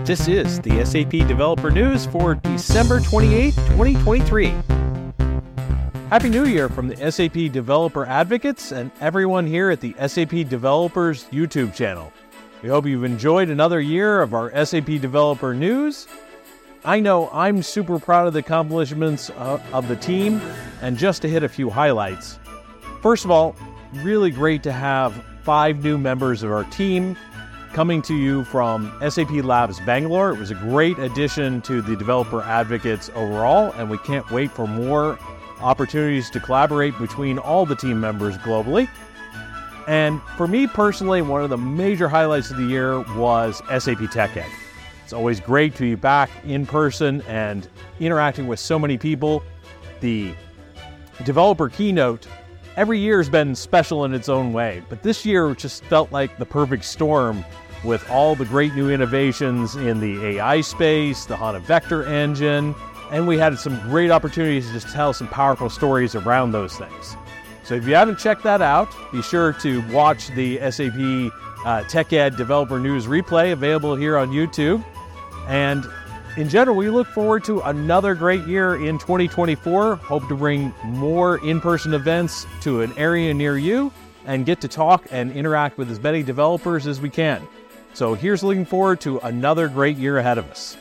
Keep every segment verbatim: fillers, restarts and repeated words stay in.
This is the S A P Developer News for December twenty-eighth, twenty twenty-three. Happy New Year from the S A P Developer Advocates and everyone here at the S A P Developers YouTube channel. We hope you've enjoyed another year of our S A P Developer News. I know I'm super proud of the accomplishments uh, of the team, and just to hit a few highlights. First of all, really great to have five new members of our team coming to you from S A P Labs Bangalore. It was a great addition to the Developer Advocates overall, and we can't wait for more opportunities to collaborate between all the team members globally. And for me personally, one of the major highlights of the year was S A P TechEd. It's always great to be back in person and interacting with so many people. The developer keynote every year has been special in its own way, but this year just felt like the perfect storm with all the great new innovations in the A I space, the HANA Vector Engine, and we had some great opportunities to just tell some powerful stories around those things. So if you haven't checked that out, be sure to watch the S A P uh, TechEd Developer News replay available here on YouTube. And in general, we look forward to another great year in twenty twenty-four. Hope to bring more in-person events to an area near you and get to talk and interact with as many developers as we can. So here's looking forward to another great year ahead of us.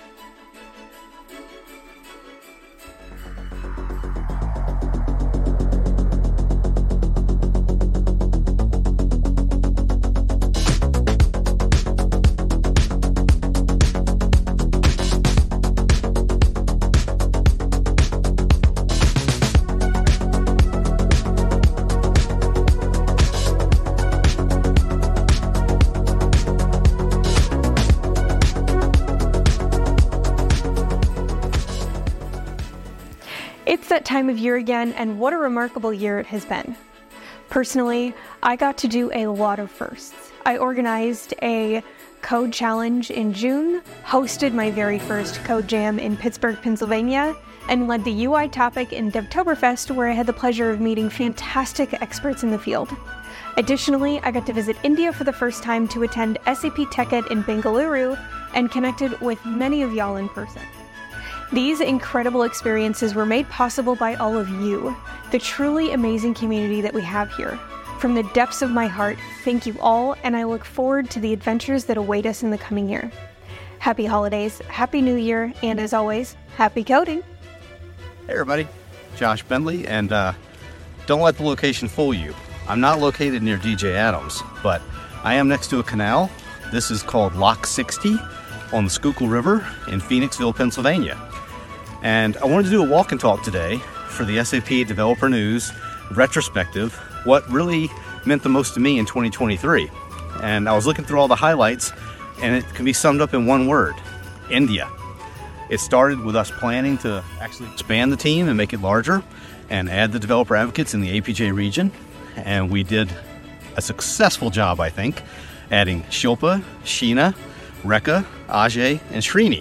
It's that time of year again, and what a remarkable year it has been. Personally, I got to do a lot of firsts. I organized a code challenge in June, hosted my very first code jam in Pittsburgh, Pennsylvania, and led the U I topic in Devtoberfest, where I had the pleasure of meeting fantastic experts in the field. Additionally, I got to visit India for the first time to attend S A P TechEd in Bengaluru and connected with many of y'all in person. These incredible experiences were made possible by all of you, the truly amazing community that we have here. From the depths of my heart, thank you all, and I look forward to the adventures that await us in the coming year. Happy holidays, happy new year, and as always, happy coding! Hey everybody, Josh Bentley, and uh, don't let the location fool you. I'm not located near D J Adams, but I am next to a canal. This is called Lock sixty on the Schuylkill River in Phoenixville, Pennsylvania. And I wanted to do a walk and talk today for the S A P Developer News retrospective, what really meant the most to me in twenty twenty-three. And I was looking through all the highlights, and it can be summed up in one word: India. It started with us planning to actually expand the team and make it larger and add the developer advocates in the A P J region. And we did a successful job, I think, adding Shilpa, Sheena, Rekha, Ajay, and Srini.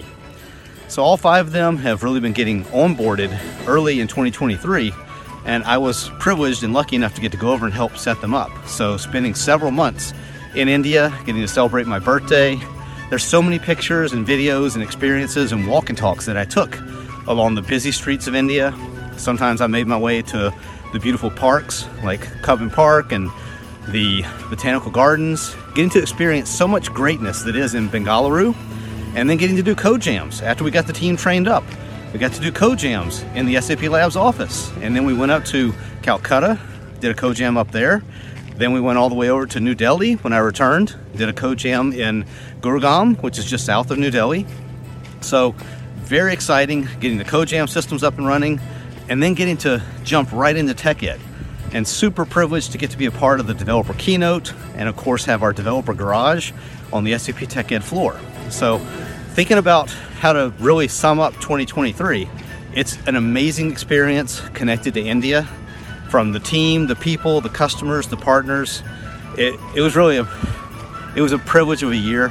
So all five of them have really been getting onboarded early in twenty twenty-three, and I was privileged and lucky enough to get to go over and help set them up. So spending several months in India, getting to celebrate my birthday. There's so many pictures and videos and experiences and walk and talks that I took along the busy streets of India. Sometimes I made my way to the beautiful parks like Cubbon Park and the Botanical Gardens, getting to experience so much greatness that is in Bengaluru, and then getting to do code jams after we got the team trained up. We got to do code jams in the S A P Labs office, and then we went up to Calcutta, did a code jam up there. Then we went all the way over to New Delhi when I returned, did a code jam in Gurgaon, which is just south of New Delhi. So very exciting, getting the code jam systems up and running, and then getting to jump right into TechEd. And super privileged to get to be a part of the developer keynote, and of course have our developer garage on the S A P TechEd floor. So thinking about how to really sum up twenty twenty-three, it's an amazing experience connected to India, from the team, the people, the customers, the partners. It, it was really a, it was a privilege of a year.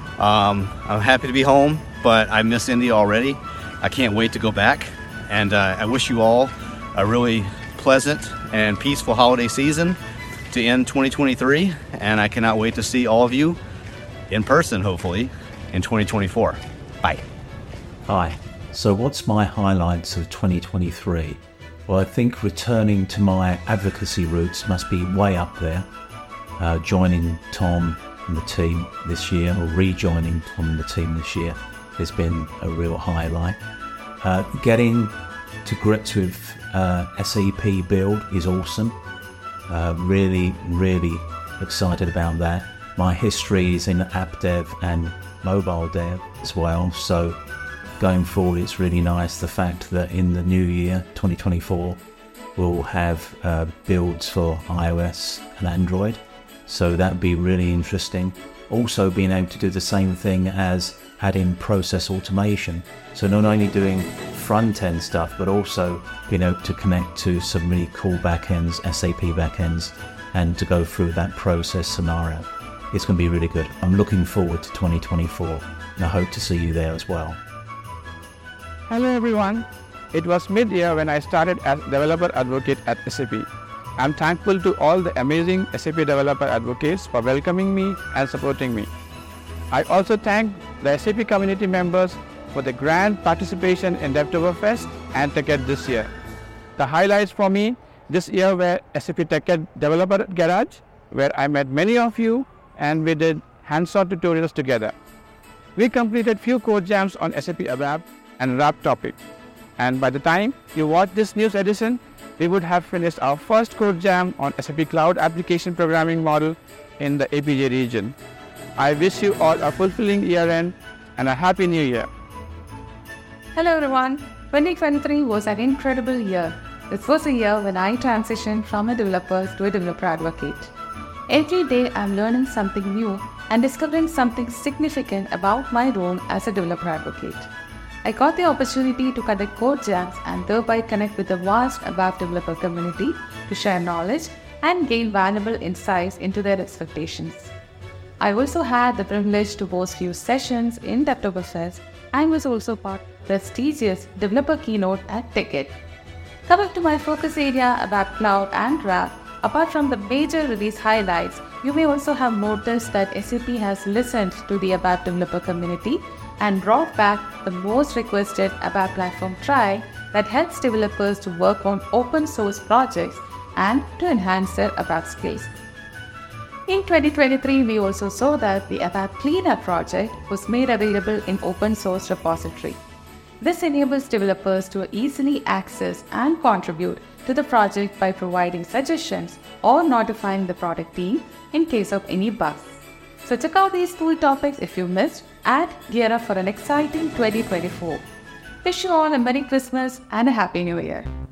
Um, I'm happy to be home, but I miss India already. I can't wait to go back, and uh, I wish you all a really pleasant and peaceful holiday season to end twenty twenty-three, and I cannot wait to see all of you in person, hopefully, in twenty twenty-four. Bye. Hi. So what's my highlights of twenty twenty-three? Well, I think returning to my advocacy roots must be way up there. Uh, joining Tom and the team this year, or rejoining Tom and the team this year, has been a real highlight. Uh, getting to grips with uh, S A P Build is awesome. Uh, really, really excited about that. My history is in app dev and mobile dev as well, so going forward it's really nice the fact that in the new year, twenty twenty-four, we'll have uh, builds for iOS and Android, so that would be really interesting. Also being able to do the same thing as adding process automation, so not only doing front-end stuff but also being able to connect to some really cool backends, S A P backends, and to go through that process scenario. It's going to be really good. I'm looking forward to twenty twenty-four, and I hope to see you there as well. Hello everyone. It was mid-year when I started as developer advocate at S A P. I'm thankful to all the amazing S A P developer advocates for welcoming me and supporting me. I also thank the S A P community members for the grand participation in DevToberFest and TechEd this year. The highlights for me this year were S A P TechEd Developer Garage, where I met many of you and we did hands-on tutorials together. We completed few code jams on S A P ABAP and wrap topic. And by the time you watch this news edition, we would have finished our first code jam on S A P Cloud Application Programming Model in the A P J region. I wish you all a fulfilling year end and a happy new year. Hello everyone. twenty twenty-three was an incredible year. This was a year when I transitioned from a developer to a developer advocate. Every day I'm learning something new and discovering something significant about my role as a developer advocate. I got the opportunity to conduct code jams and thereby connect with the vast ABAP developer community to share knowledge and gain valuable insights into their expectations. I also had the privilege to host few sessions in DevToberFest and was also part of the prestigious developer keynote at TechEd. Coming to my focus area ABAP Cloud and RAP, apart from the major release highlights, you may also have noticed that S A P has listened to the ABAP developer community and brought back the most requested ABAP platform try that helps developers to work on open source projects and to enhance their ABAP skills. In twenty twenty-three, we also saw that the ABAP Cleanup project was made available in open source repository. This enables developers to easily access and contribute to the project by providing suggestions or notifying the product team in case of any bugs. So check out these cool topics if you missed and gear up for an exciting twenty twenty-four. Wish you all a Merry Christmas and a Happy New Year.